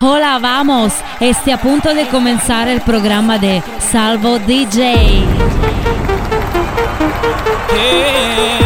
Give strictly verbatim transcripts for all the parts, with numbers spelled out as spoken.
Hola, vamos. Esté a punto de comenzar el programa de Salvo D J. Yeah.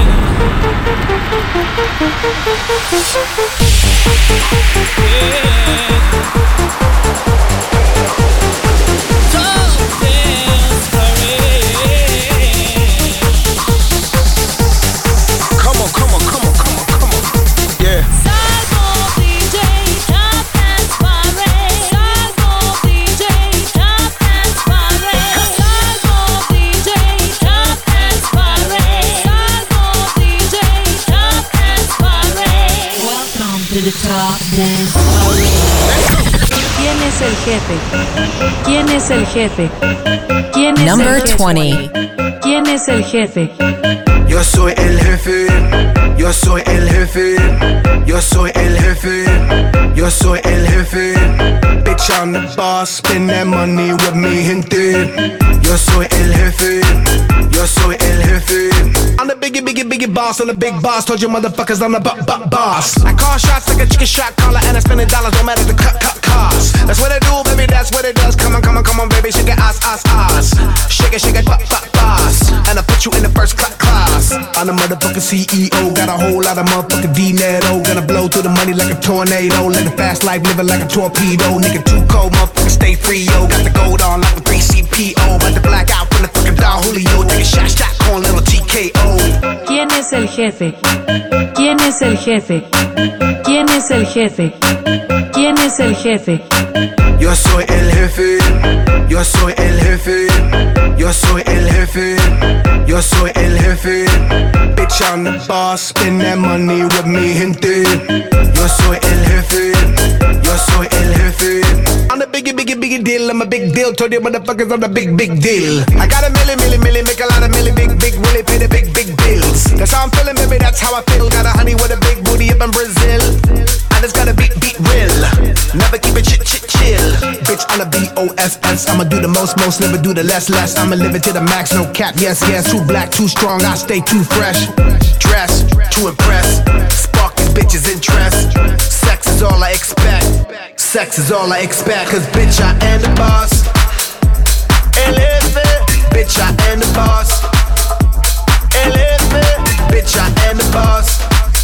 ¿Quién es el jefe? ¿Quién es el jefe? ¿Quién es Number el jefe? twenty. ¿Quién es el jefe? Yo soy el jefe, yo soy el jefe, yo soy el jefe, yo soy el jefe. Bitch, I'm the boss, spend that money with me, gente. Yo soy el jefe, yo soy el jefe. I'm the biggie, biggie, biggie boss, I'm the big boss. Told you motherfuckers I'm the b- b- boss. I call shots like a chicken shot caller, and I spend the dollars, no matter the cut, cut cost. That's what I do, baby, that's what it does. Come on, come on, come on, baby, shake it, ass, ass, ass. Shake it, shake it, b- b- boss. And I put you in the first cl- class. I'm the motherfucking C E O, got a whole lot of motherfucking dinero. Gonna blow through the money like a tornado. Live a fast life, living like a torpedo. Nigga too cold, motherfucker stay free, yo. Got the gold on like a three C P O. About to black out from the fucking Don Julio. Take a shot, shot, con little T K O. ¿Quién es el jefe? ¿Quién es el jefe? ¿Quién es el jefe? ¿Quién es el jefe? Yo soy el jefe, yo soy el jefe, yo soy el jefe, yo soy el jefe. Bitch, I'm the boss, spend that money with me, gente. Yo soy el jefe, yo soy el jefe. I'm the biggie, biggie, biggie deal, I'm a big deal. Told you motherfuckers I'm the big, big deal. I got a milli, milli, milli, make a lot of milli, big, big, really pay the big, big bills. That's how I'm feeling, baby, that's how I feel. Got a honey with a big booty up in Brazil. I just gotta beat, beat real. Never keep it chit, chit, chill. Bitch, I'm a B O S S. I'ma do the most, most, never do the less, less. I'ma live it to the max, no cap, yes, yes. Too black, too strong, I stay too fresh. Dress, to impress. Spark these bitches' interest. Sex is all I expect. Sex is all I expect. Cause bitch, I am the boss. Elevate. Bitch, I am the boss. Elevate. Bitch, I am the boss.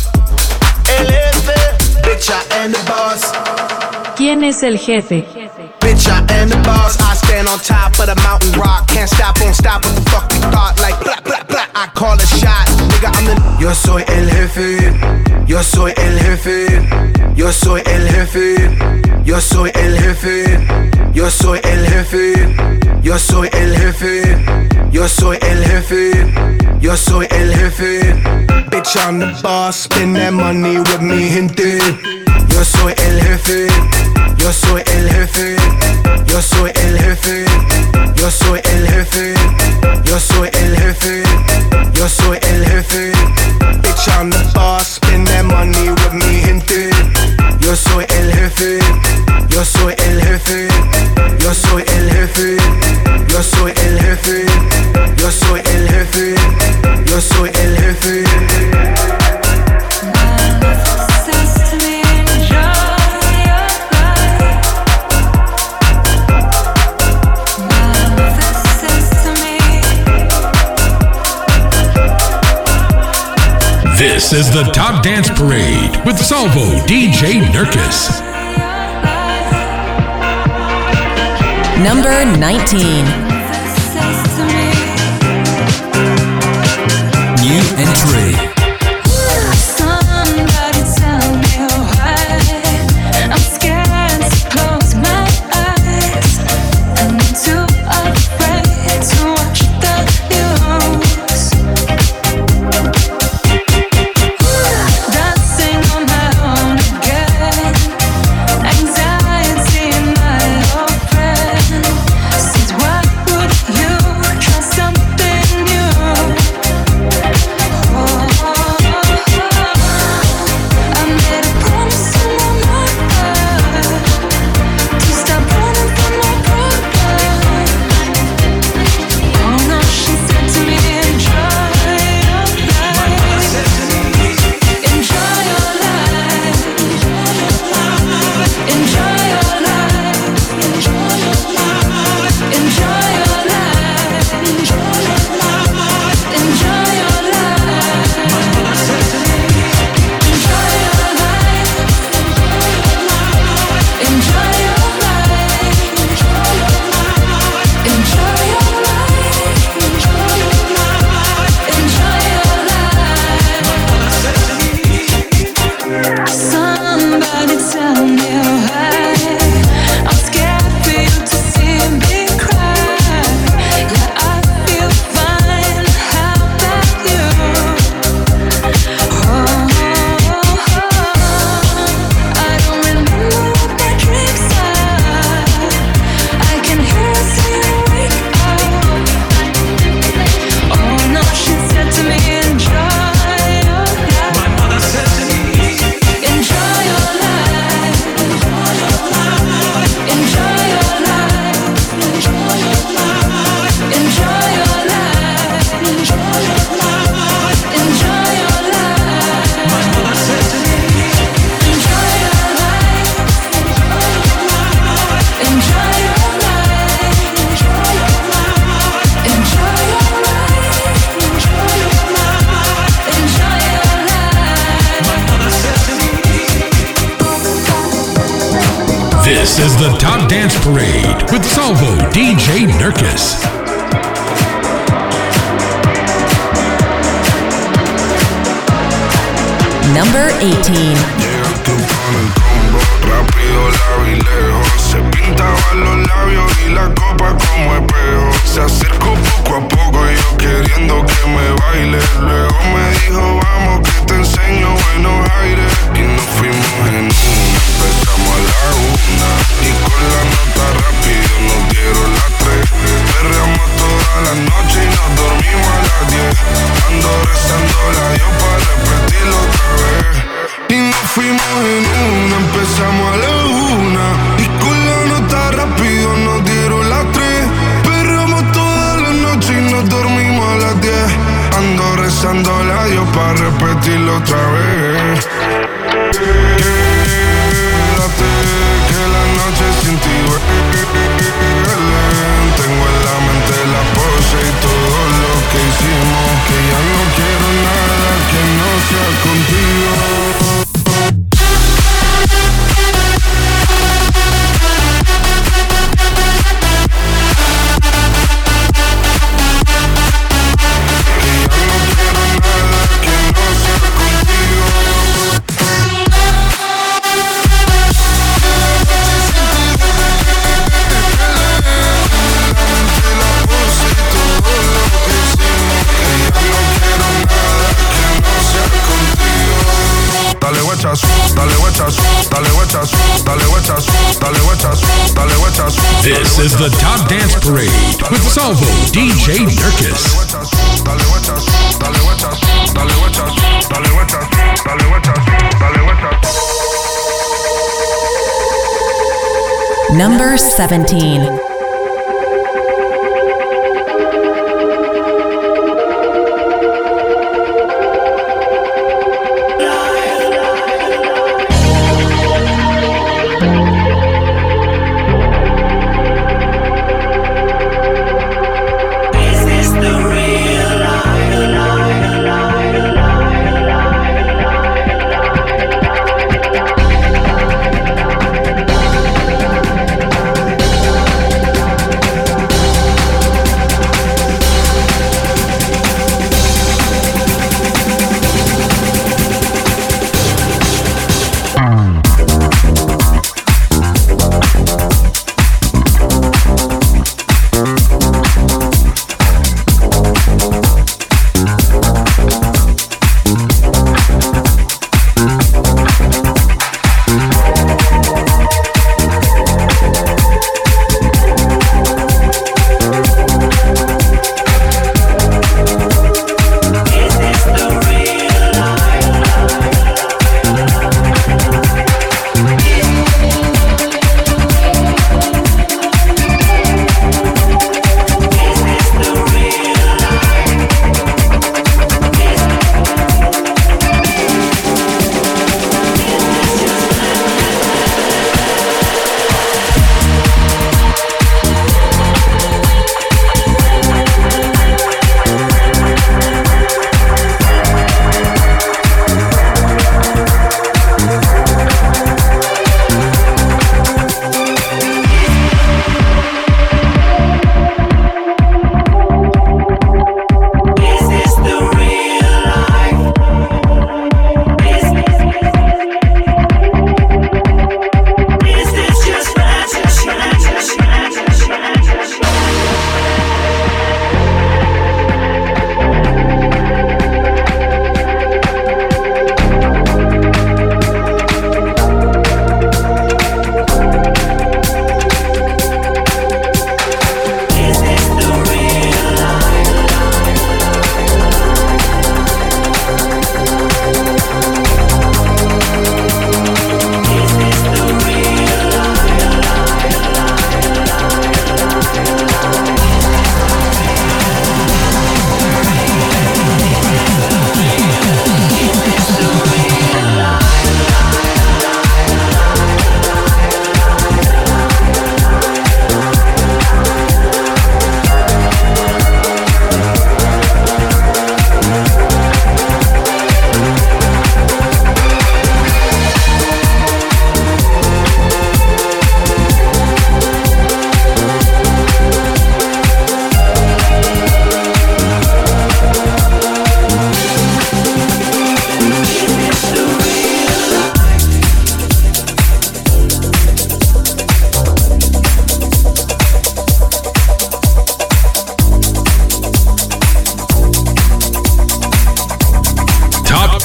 Elevate. Bitch, I am the boss. ¿Quién es el jefe? Bitch, I am the boss. I stand on top of the mountain rock. Can't stop, won't stop. What the fuck you thought? Like blah, blah, blah. I call a shot. Nigga, I'm the. Yo soy el jefe. Yo soy el jefe. Yo soy el jefe. Yo soy el jefe. Yo soy el jefe. Yo soy el jefe. Yo soy el jefe. Yo soy el jefe. Bitch, I'm the boss. Spend that money with me, gente. Yo soy el jefe. Yo soy el jefe. Yo soy el jefe. Yo soy el jefe. Yo soy el jefe. Yo soy el jefe. Bitch, I'm the boss. Spend that money with me, gente. Yo soy el jefe. Yo soy el jefe. Yo soy el jefe. Yo soy el jefe. Yo soy el jefe. Yo soy el jefe. This is the Top Dance Parade with Salvo D J Nurkis. Number nineteen. New entry. You try something new. This is the Top Dance Parade with Salvo D J Nurkis. Number eighteen. Llega tu con el combo, rápido, largo y lejos. Se pintaban los labios y la copa como espejo. Se acercó poco a poco y yo queriendo que me baile. Luego me dijo, vamos que te enseño buenos aires. Y nos fuimos en una, empezamos a la una. Y con la nota rápido nos dieron las tres. Perreamos toda la noche y nos dormimos a las diez. Ando rezando la Dios para repetirlo otra vez. Y nos fuimos en una, empezamos a la una. Y con la nota rápido nos dieron las tres. Perreamos toda la noche y nos dormimos a las diez. Ando rezando a Dios para repetirlo otra vez. Quédate, que la noche sin ti duele. Tengo en la mente la pose y todo lo que hicimos. Que ya no quiero nada que no sea contigo. Dale guachas, dale guachas, dale guachas, dale guachas, dale guachas, dale guachas. This is the Top Dance Parade with Salvo D J Nurkis. Dale guachas, dale guachas, dale guachas, dale guachas, dale guachas, dale guachas. Number seventeen.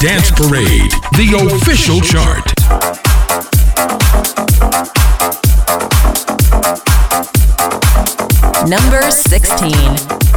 Dance Parade, the official chart. Number sixteen.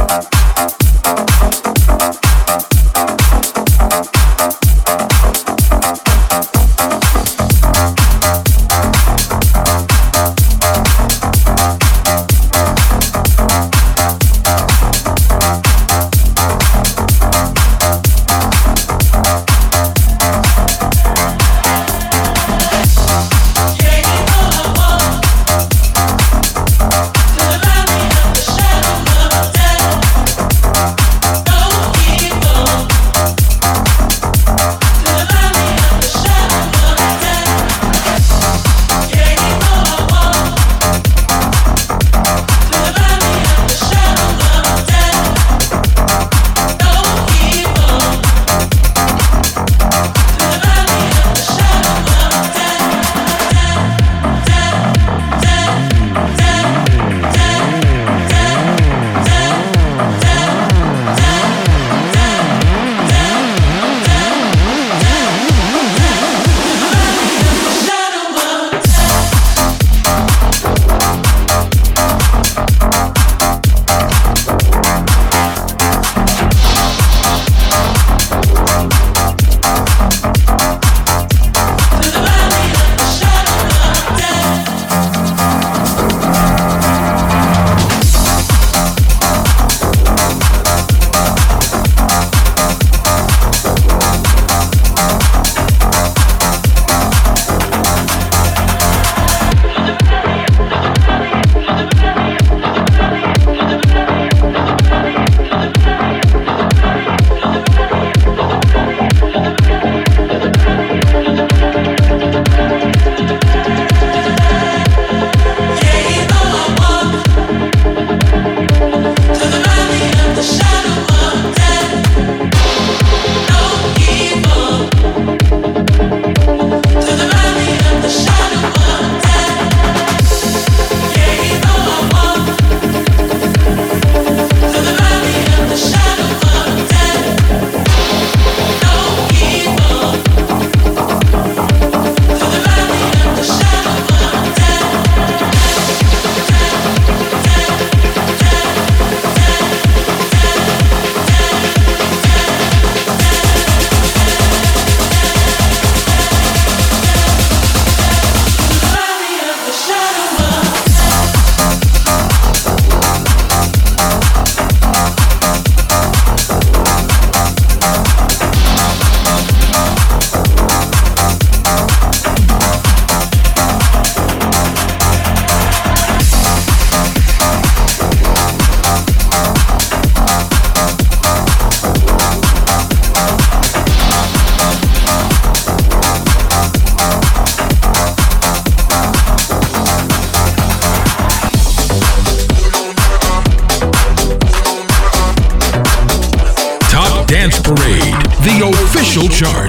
Dance Parade, the official chart.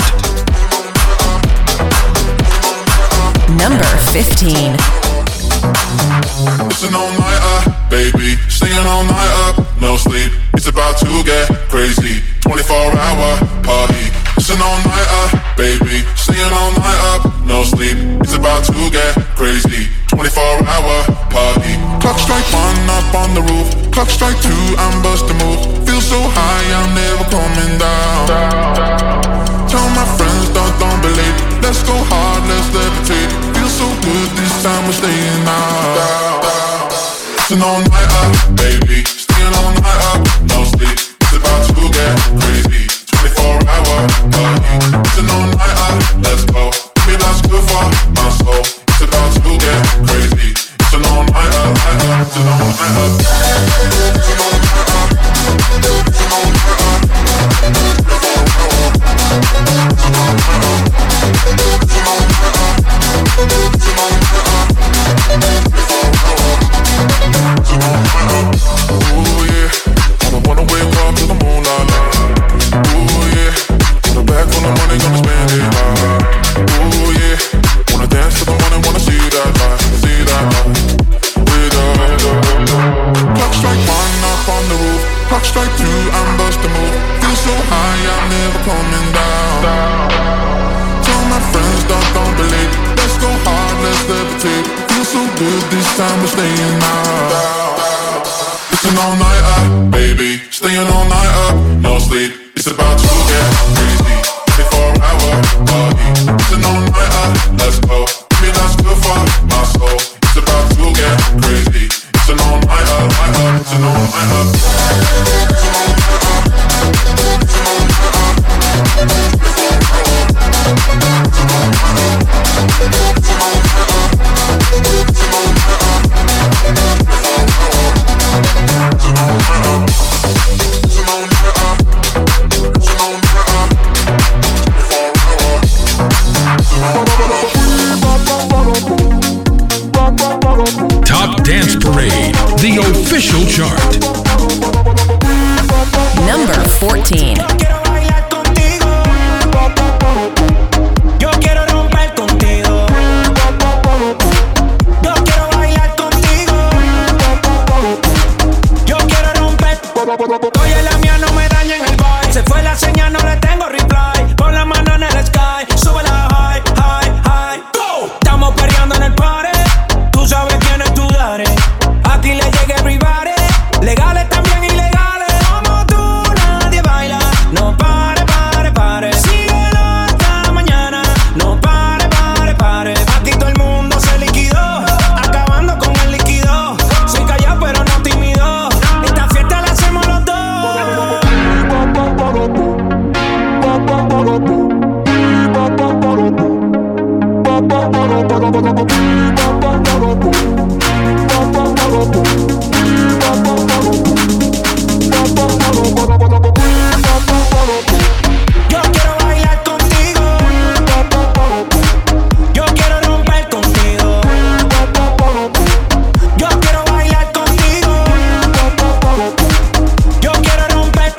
Number fifteen. It's an all-nighter, baby. Staying all night up, no sleep. It's about to get crazy. twenty-four hour party. It's an all-nighter, baby. Staying all night up, no sleep. It's about to get crazy. twenty-four hour party. Clock strike one up on the roof. Clock strike two, I'm busting moves. Feel so high, I'm never coming down. Tell my friends, don't, don't believe. Let's go hard, let's levitate. Feel so good, this time we're staying out. It's an all-nighter, baby. Staying all night up, no sleep. It's about to get crazy. twenty-four hour party. It's an all-nighter, let's go. Maybe that's good for my soul. It's about to get crazy. It's an all-nighter, it's an all-nighter. It's an all-nighter. It's an all-nighter. It's an all-nighter. time we're staying out. It's an all-nighter, baby. Staying all night up, no sleep. It's about to get crazy. twenty-four hour party. It's an all-nighter, let's go. Baby, that's good for my soul. It's about to get crazy. It's an all-nighter, nighter. It's an all-nighter. It's an all-nighter. It's an all-nighter. It's an all-nighter. It's an Top Dance Parade, the official chart. Number fourteen. Oye, la mía no me daña en el vibe. Se fue la señal, no le tengo reply. Pon la mano en el sky, sube la high, high, high. Go. Estamos perreando en el party. Tú sabes quién es tu daddy. Aquí le llega everybody. Legales también ilegales. Como tú nadie baila. No pare, pare, pare. Síguelo hasta mañana. No pare, pare, pare. Aquí todo el mundo se liquidó. Acabando con el líquido. Soy callado pero no tímido. Esta fiesta la hacemos los dos. Yo quiero bailar contigo. Yo quiero romper contigo. Yo quiero bailar contigo. Yo quiero romper.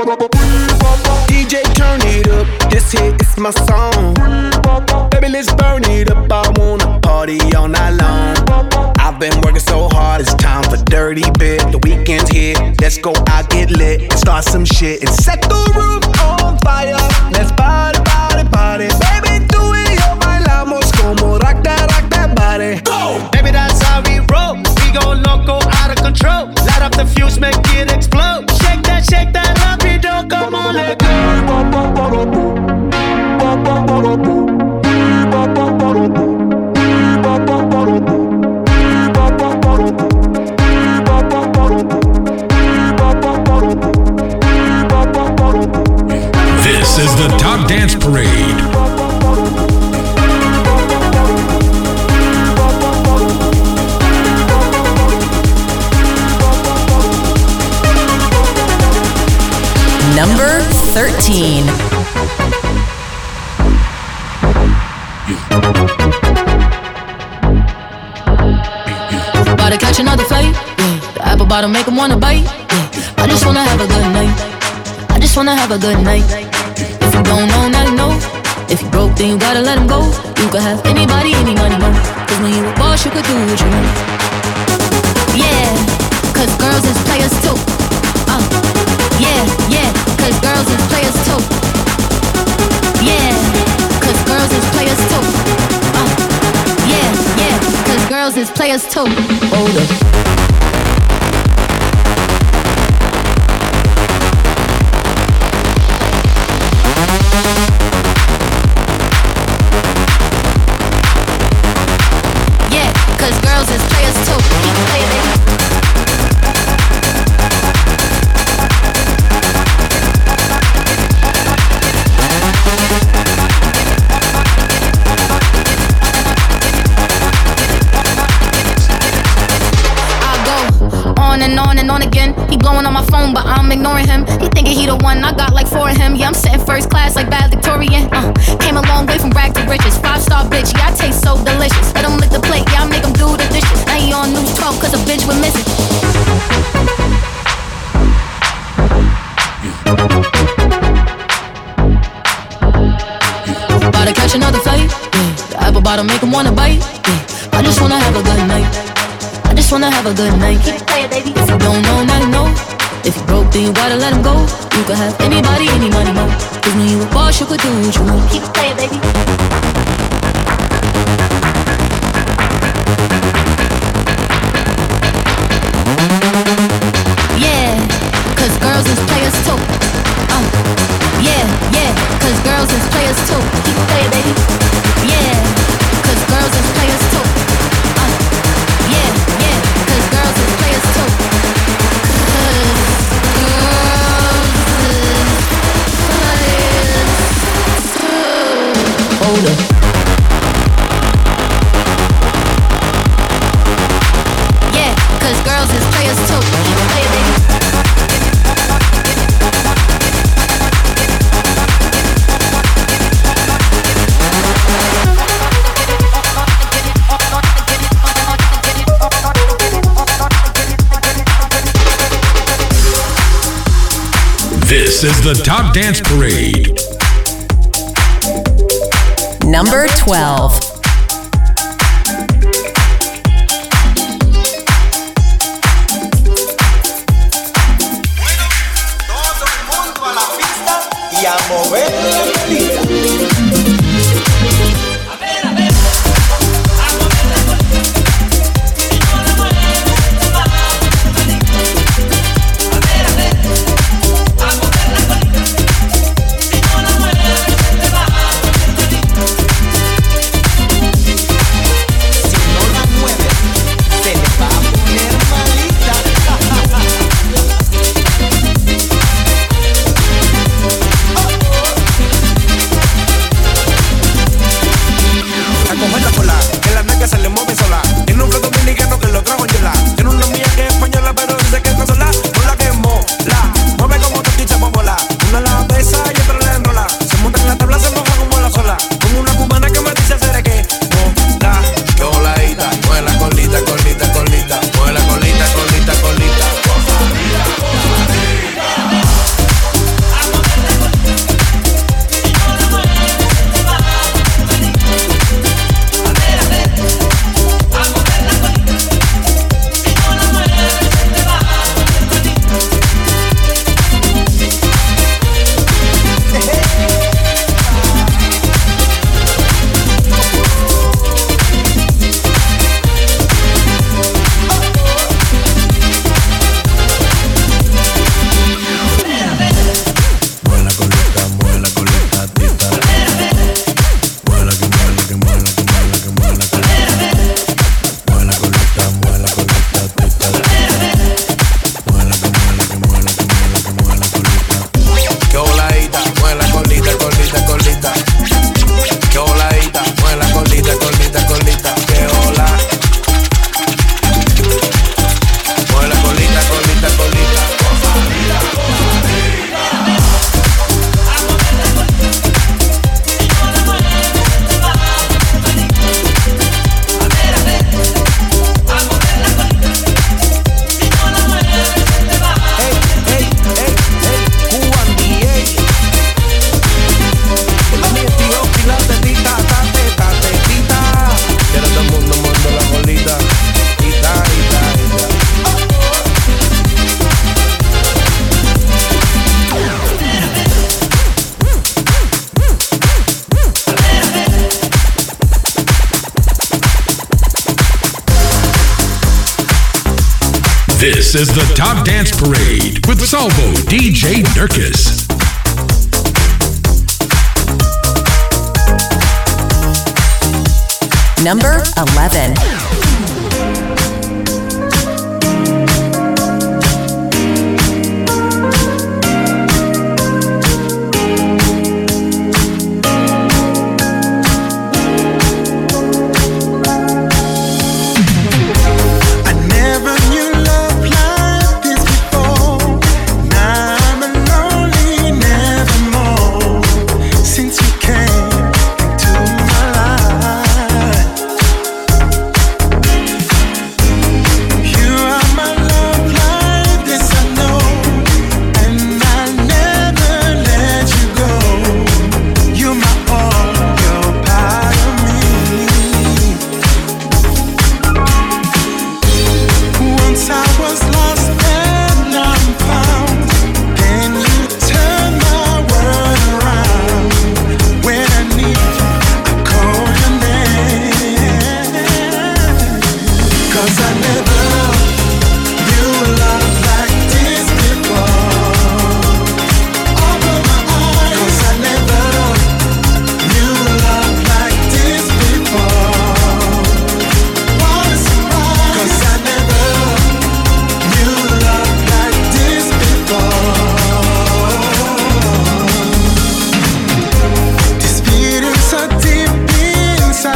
D J, turn it up. This hit is my song. Baby, let's burn it up. I wanna party all night long. I've been working so hard, it's time for dirty bit. The weekend's here, let's go out, get lit, and start some shit and set the room on fire. Let's party, party, party. Baby, tú y yo bailamos como rock that, rock that body. Go. Baby, that's how we roll. We go loco, out of control. Light up the fuse, make it explode. Shake that, shake that, rapido, come on, let go. This is the Top Dance Parade. Number thirteen. About to catch another flight, yeah. The apple bottom make 'em wanna bite, yeah. I just wanna have a good night. I just wanna have a good night. If you don't know, now you know. If you broke, then you gotta let him go. You could have anybody, any money, mo. Cause when you a boss, you could do what you want. Yeah, cause girls is players too. Uh, yeah, yeah, cause girls is players too. Yeah, cause girls is players too. Uh, yeah, yeah, cause girls is players too. Hold up. Yeah, cause girls is players too. Keep playing it. On and on and on again. He blowing on my phone, but I'm ignoring him. He thinking he the one, I got like four of him. Yeah, I'm sitting first class like bad Victorian. Uh, came a long way from rag to riches. Five star bitch, yeah, I taste so delicious. Let him lick the plate, yeah, I make him do the dishes. Now he on news twelve, cause a bitch we're missing. About to catch another flight, yeah. The apple bottom make him wanna bite, yeah. I just wanna have a good night. I just wanna have a good night. Keep playing, baby. If you don't know, now you know. If you broke, then you gotta let him go. You could have anybody, any money, mo. Cause when you a boss, you could do what you want. Keep playing, baby. players too. Play it, baby. This is the Top Dance Parade. Number twelve. Y a mover la colita. A ver, a ver, a mover la colita. Si no la mueves, te va a salir. A ver, a ver, a mover la colita. Si no la mueves, te va a salir. Si no la mueves, se le va a poner malita. A cogerla por la, que las nalgas se le mueven sola. Tiene un flow dominicano que lo trajo en yola. Tiene una mía que es española, pero dice que está sola. Mola que mola, mueve como tortilla bola. Una la besa y otra la enrola. Se monta en la tabla, se moja como la sola. Como una cubana que me dice hacer que mola. Que voladita, mueve la colita, colita, colita. Mueve la colita, colita, colita. This is the Top Dance Parade with Salvo D J Nurkis. Number eleven.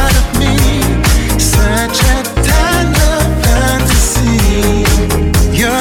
You're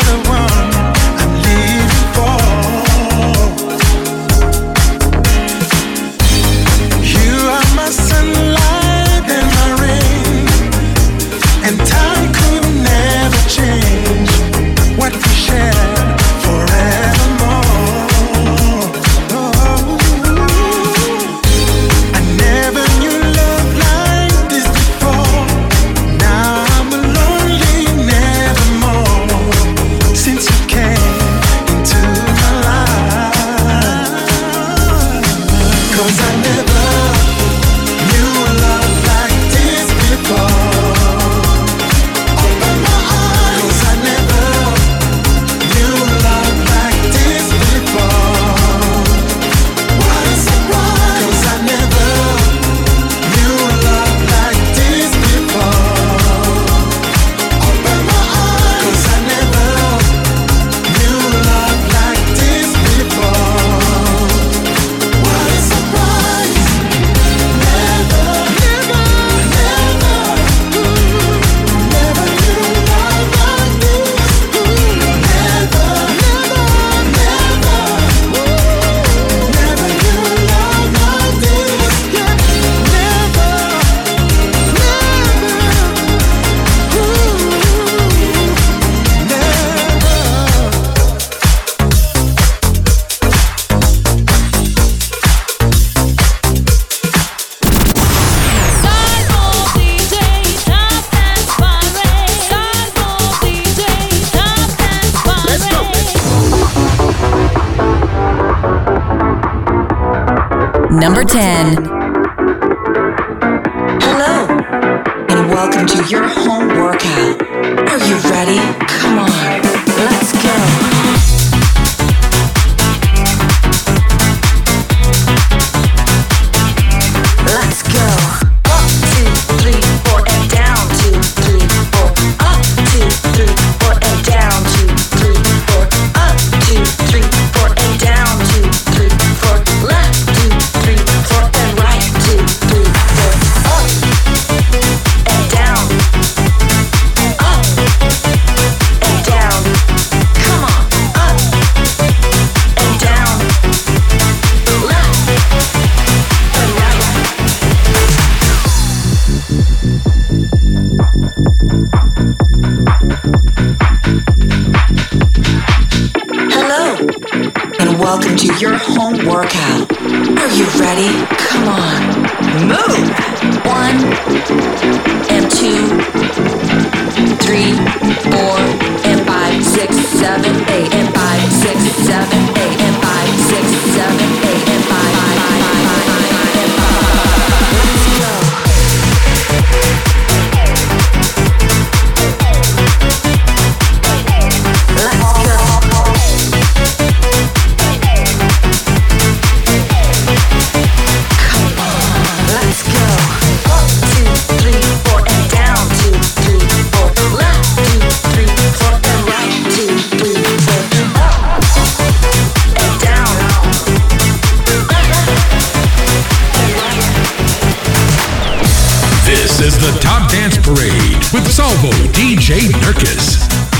Number ten. Hello, and welcome to your home workout. Are you ready? Come on, let's go. Let's go. Up, two, three, four, and down, two, three, four. Up, two, three, four, and down, two, three, four. Up, two, three, four, and down, two, three, four. Left, two, three, four, and right, two, three, four. Up and down. Up and down. Come on. Up and down. Left and right. Hello, and welcome to your home workout. Are you ready? Come on, move. One and two, three, four, and five, six, seven, eight, and five, six, seven, eight, and five, six, seven, eight, and five, five, five, five, five, five, and five. Let's go. Let's go. Up, two, three, four, and down, two, three, four. Left, two, three, four, and right, two, three, four. Up and down. This is the Top Dance Parade with Salvo D J Nurkis.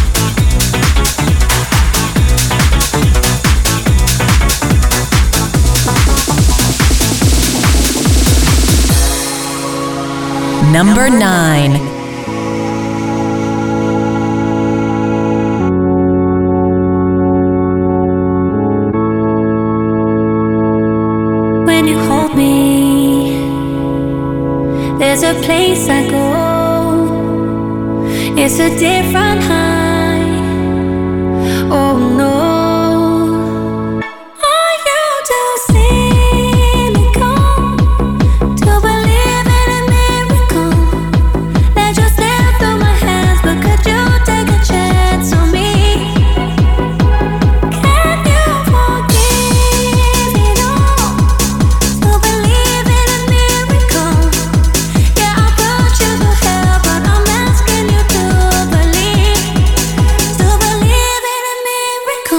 Number nine. When you hold me, there's a place I go. It's a different high. Oh no. Are you too cynical to believe in a miracle? Let you slip through my hands, but could you take a chance on me? Can you forgive it all? To believe in a miracle. Yeah, I'll put you to hell, but I'm asking you to believe, to believe in a miracle.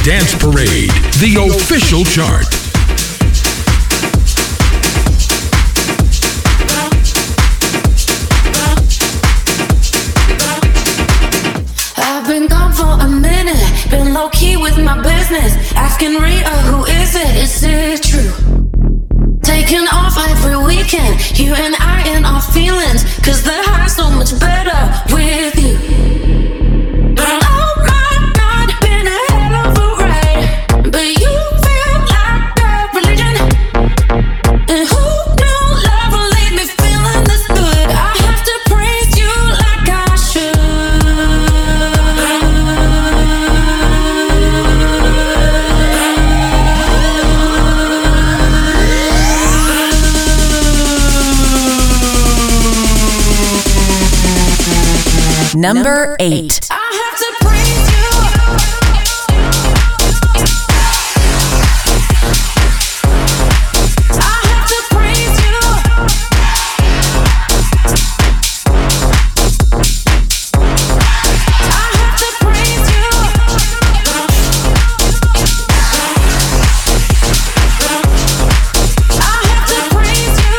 Dance Parade, the official chart. I've been gone for a minute, been low key with my business. Asking Rita, who is it? Is it true? Taking off every weekend, you and I in our feelings. Cause the high's so much better with you. Oh my God, been a hell of a ride. But you feel like a religion. And who knew love will leave me feeling this good? I have to praise you like I should. Number eight. I have to praise you. I have to praise you. I have to praise you. I have to praise you.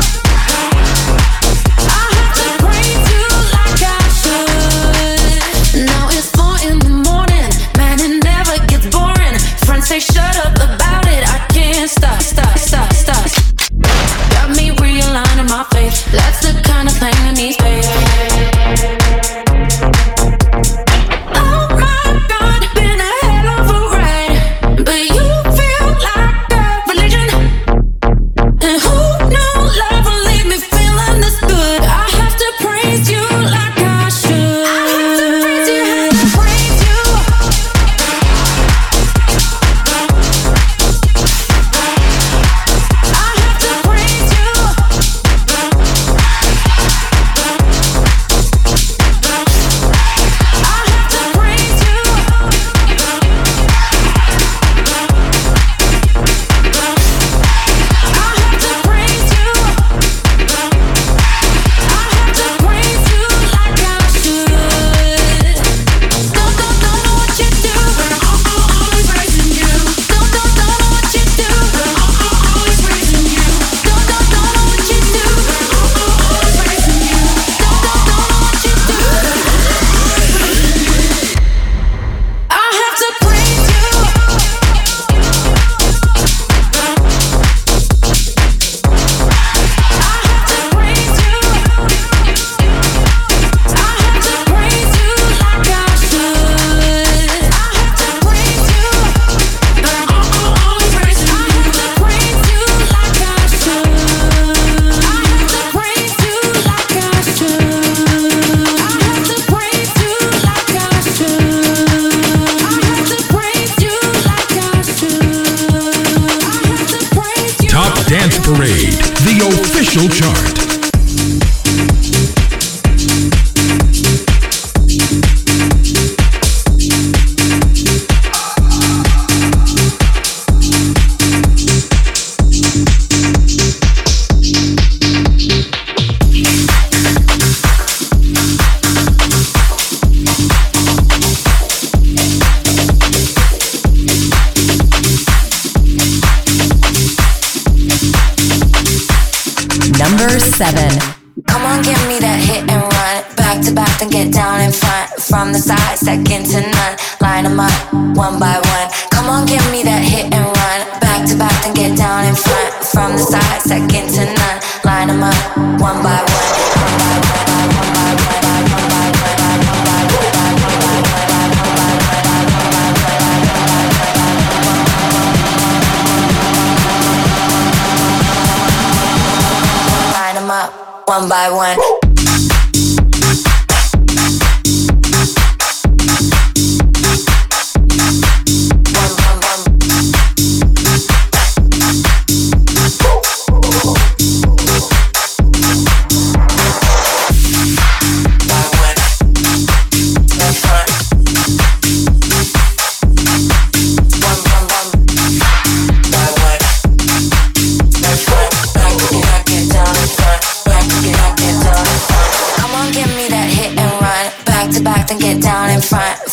I have to praise you like I should. Now it's four in the morning, man, it never gets boring. Friends say shut up about it, I can't stop, stop, stop, stop. Got me realigning my faith, that's the kind of thing that needs faith. Oh my God, been a hell of a ride. But you feel like a religion. And who knew love will leave me feeling this good? I have to praise you like I should. I have to praise you, have to praise you. I have to praise you. I have to praise you. I have to praise you. I have to praise you like I should. Don't, don't, don't know what you do, but I'm always praising you. Don't, don't, don't know what you do, but I'm always praising you. Don't, don't, don't know what you do, but I'm always praising you. Don't, don't, don't know what you do. I have to praise you. I have to praise you. I have to praise you like I should. I have to praise you, but I'm always praising you. I have to praise you like I should. I have to praise you like I should. I have to praise you like I should. I have to praise you like I should. I have to praise you. Top Dance Parade, the official chart. Number seven. Come on, give me that hit and run. Back to back, then get down in front. From the side, second to none. Line them up, one by one. Come on, give me that hit and run. Back to back, then get down in front. From the side, second to none. Line them up, one by one. One by one, one by one, one by one, one by one, one by one, one by one, one by one. Line them up, one by one.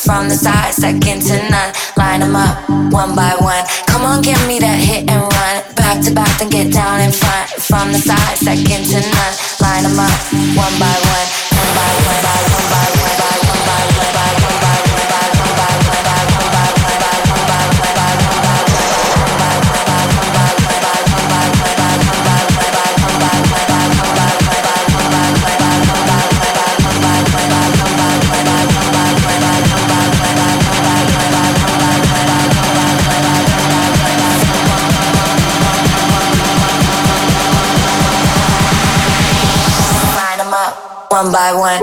from the side, second to none. Line them up, one by one. Come on, give me that hit and run. Back to back, then get down in front. From the side, second to none. Line them up, one by one. One by one, by one by one, by one by one, by one by one, by one by one, by one by one, by one by one, by one by one, by one by one by one.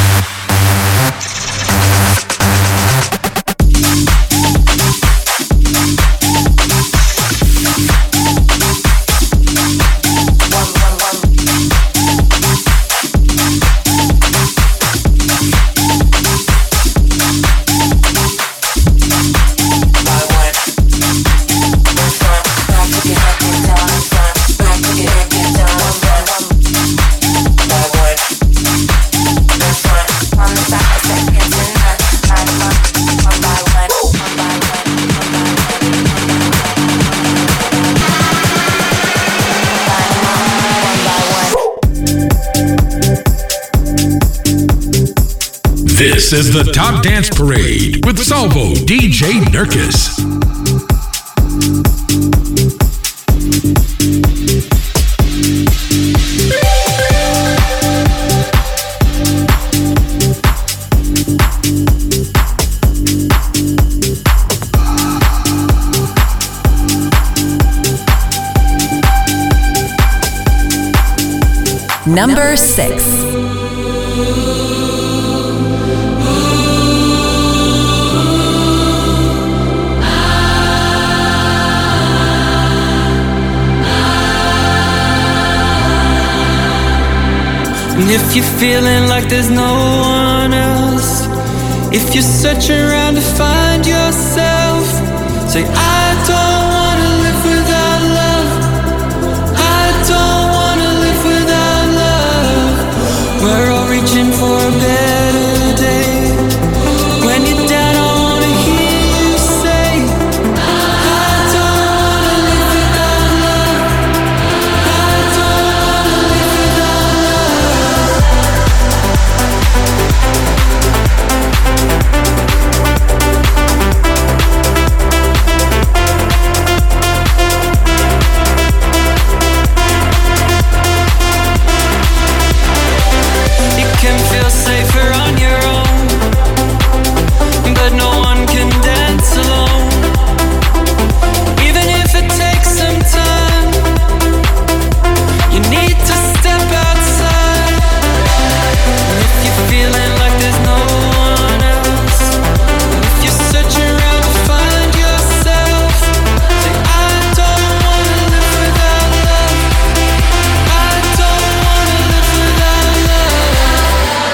This is the Top Dance Parade with Salvo D J Nurkis. Number six. And if you're feeling like there's no one else, if you're searching around to find yourself, say, I don't wanna live without love. I don't wanna live without love. We're all reaching for a better day. When you're down, I wanna hear you say, I don't wanna live without love. I don't wanna live without love. You can feel safer on your own, but no one can dance alone. Even if it takes some time, you need to step outside. And if you're feeling like there's no one else, if you're searching around to find yourself, say, I don't wanna live without love. I don't wanna live without love.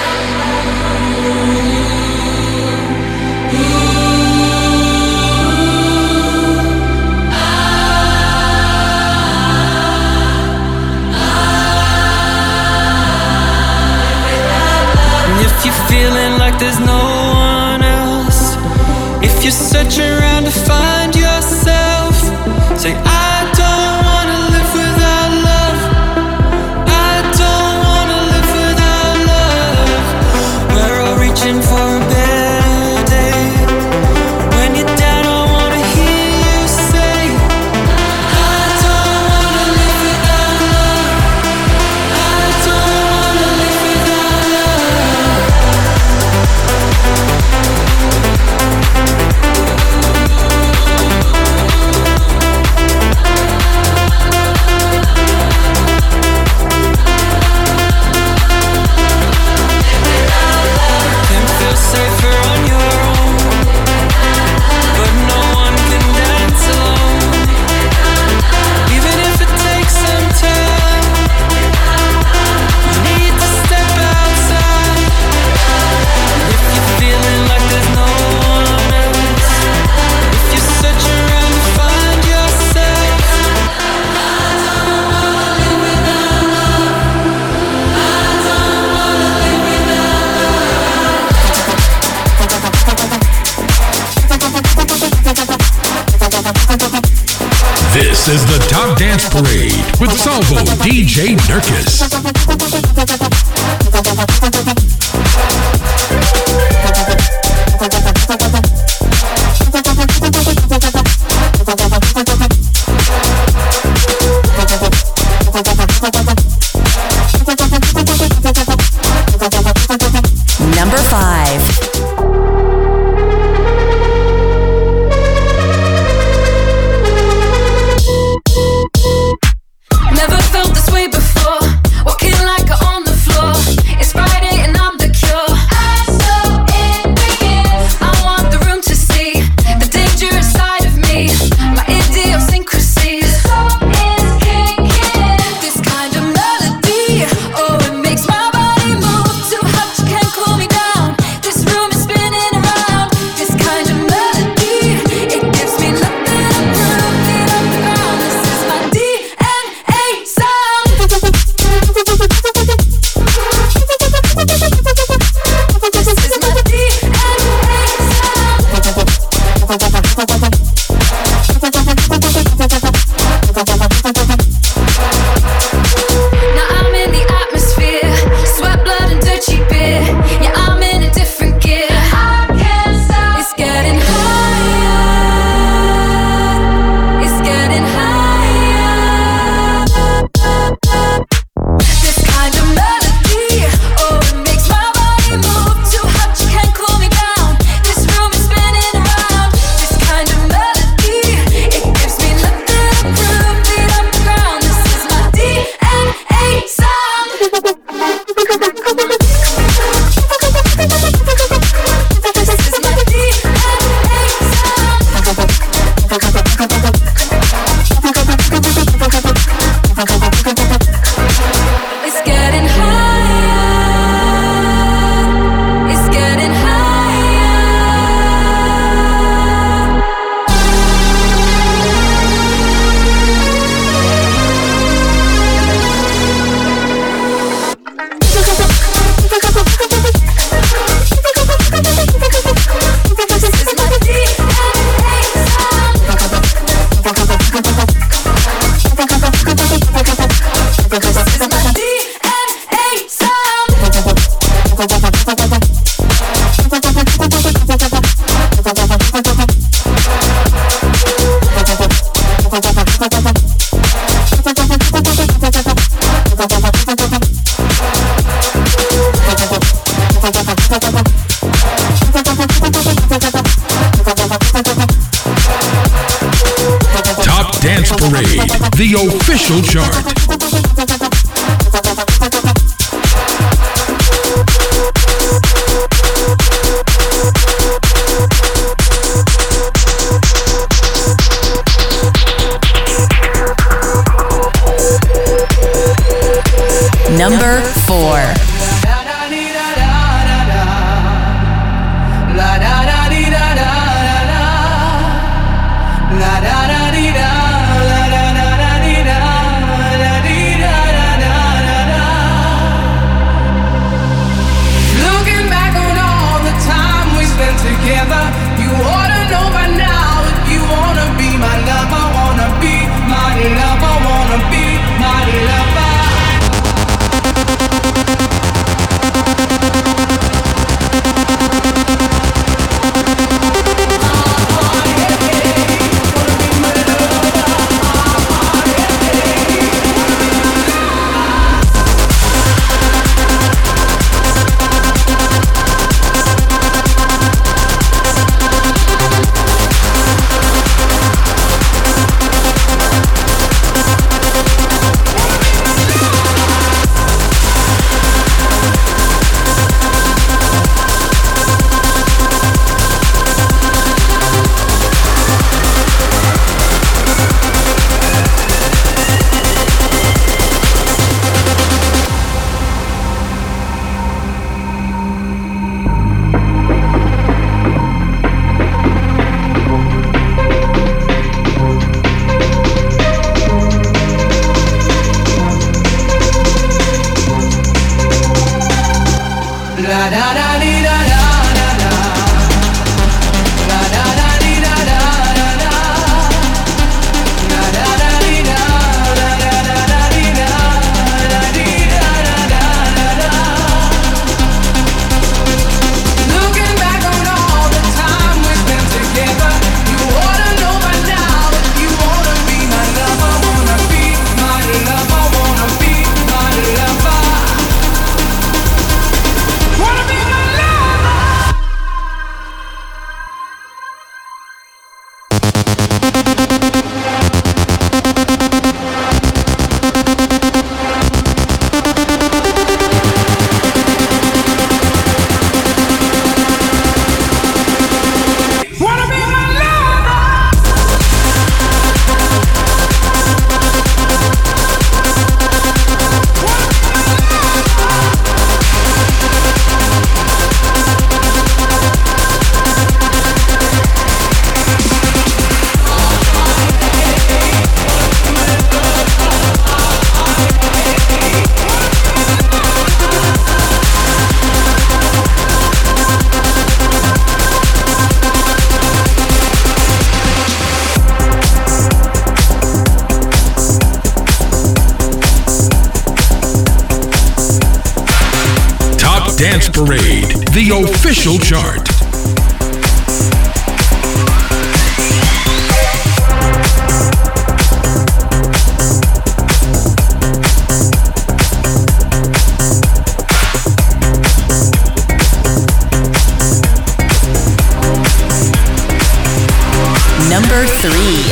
And if you're feeling like there's no one else, if you're searching around to find yourself, say, I don't wanna live without love. I don't wanna live without love. We're all reaching for a better day. When you're down, I wanna hear you say, I don't wanna live without love. I don't wanna live without love. This is the Top Dance Parade with Salvo D J Nurkis. Number five. Never felt this way before. Walking like a on the floor. It's Friday and I'm the cure. I'm so in I want the room to see the dangerous side of me. My idiosyncrasies. This kind of melody, oh, it makes my body move. Too hot, you can't cool me down. This room is spinning around. This kind of melody, it gives me nothing to prove. Beat up the ground. This is my D N A sound. This is my D N Now I'm in the atmosphere, sweat, blood, and dirty beer. Yeah, I'm in a different gear. I can't stop. It's getting higher. It's getting higher. This kind of melody, oh, it makes my body move. Too hot, you can't cool me down. This room is spinning around. This kind of melody, it gives me nothing to prove. Beat up the ground. This is my D N A sound. This is my D N A sound. It's getting higher. It's getting higher. This is my D N A sound. This is my D N A sound. Top Dance Parade, the official chart. Number four. Looking back on all the time we spent together, you ought to know by now if you wanna be my lover, wanna be my lover, wanna be my lover. Dance Parade, the official chart. Number three.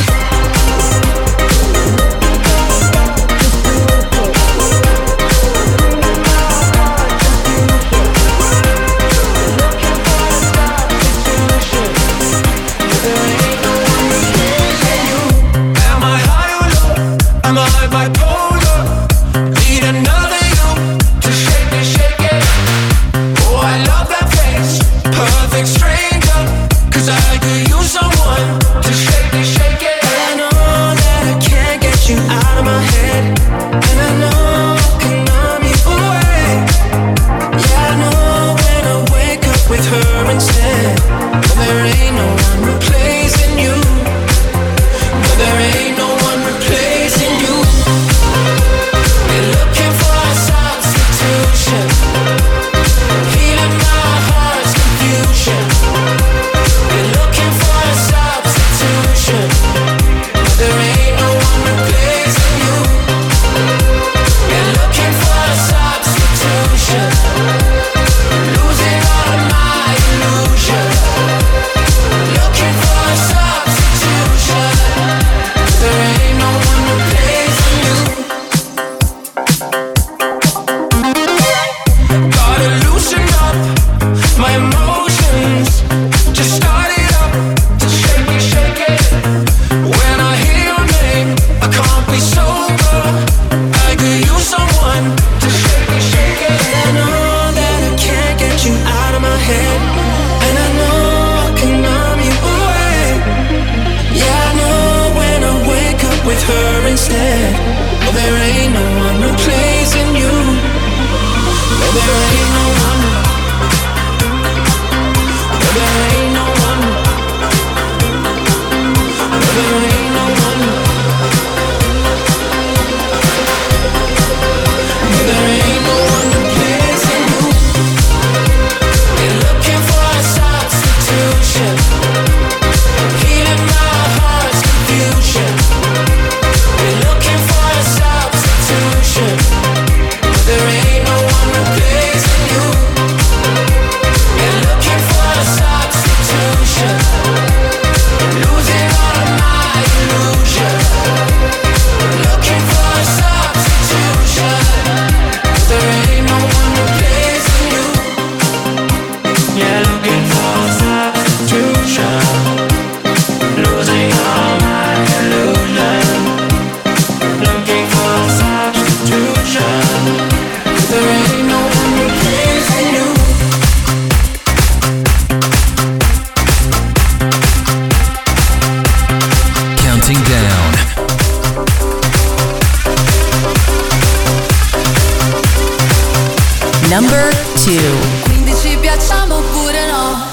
Number two. Quindi ci piacciamo oppure no?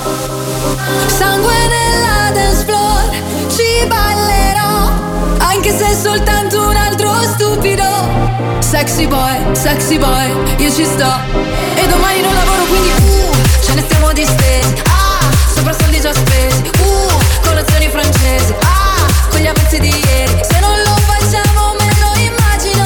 Sangue nella dance floor, ci ballerò, anche se è soltanto un altro stupido. Sexy boy, sexy boy, io ci sto. E domani non lavoro quindi uh, ce ne stiamo distesi. Ah, sopra soldi già spesi. Uh, colazioni francesi. Ah, con gli avanzi di ieri. Se non lo facciamo me lo immagino.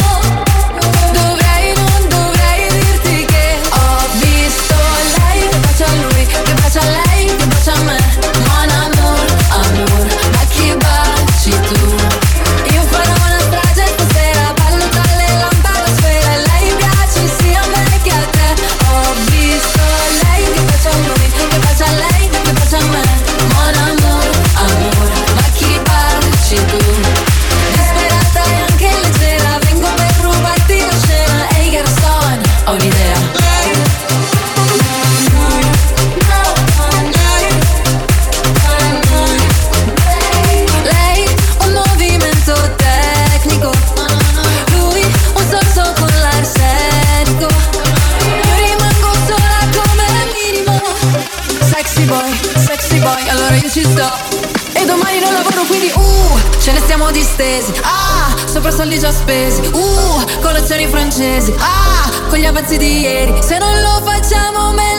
Dovrei, non dovrei dirti che ho visto lei che bacia a lui, che bacia a lei, che bacia a me. Mon amour, amour, ma chi baci tu? Io farò una strage stasera, ballo tra le lampadosfere. Lei piace sia a me che a te. Ho visto lei che bacia a lui, che bacia a lei, che bacia a me. Mon amour, amour, ma chi baci tu? Disperata e anche leggera, vengo per rubarti la scena. Ehi garçon, ho un'idea. Lei un movimento tecnico, lui un sorso con l'arsenico. Io rimango sola come minimo. Sexy boy, sexy boy, allora io ci sto. E domani non lavoro quindi uh, ce ne stiamo distesi. Ah, sopra soldi già spesi. Uh, colazioni francesi. Ah, con gli avanzi di ieri. Se non lo facciamo me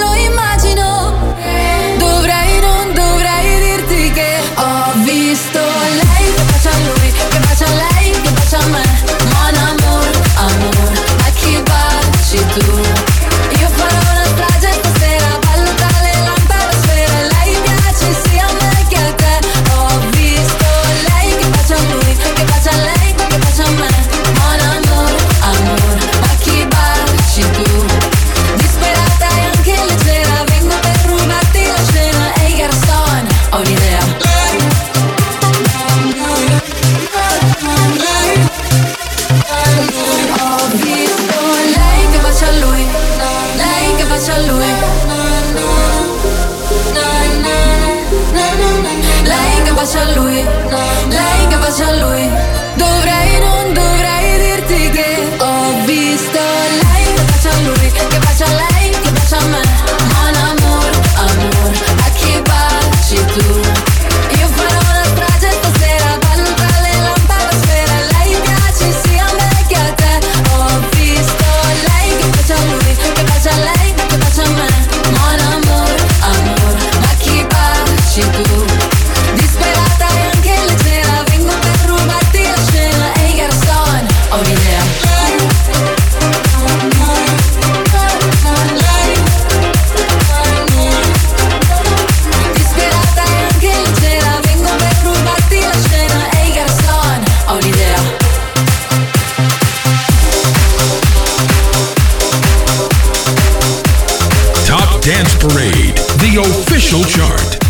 Dance Parade, the official chart.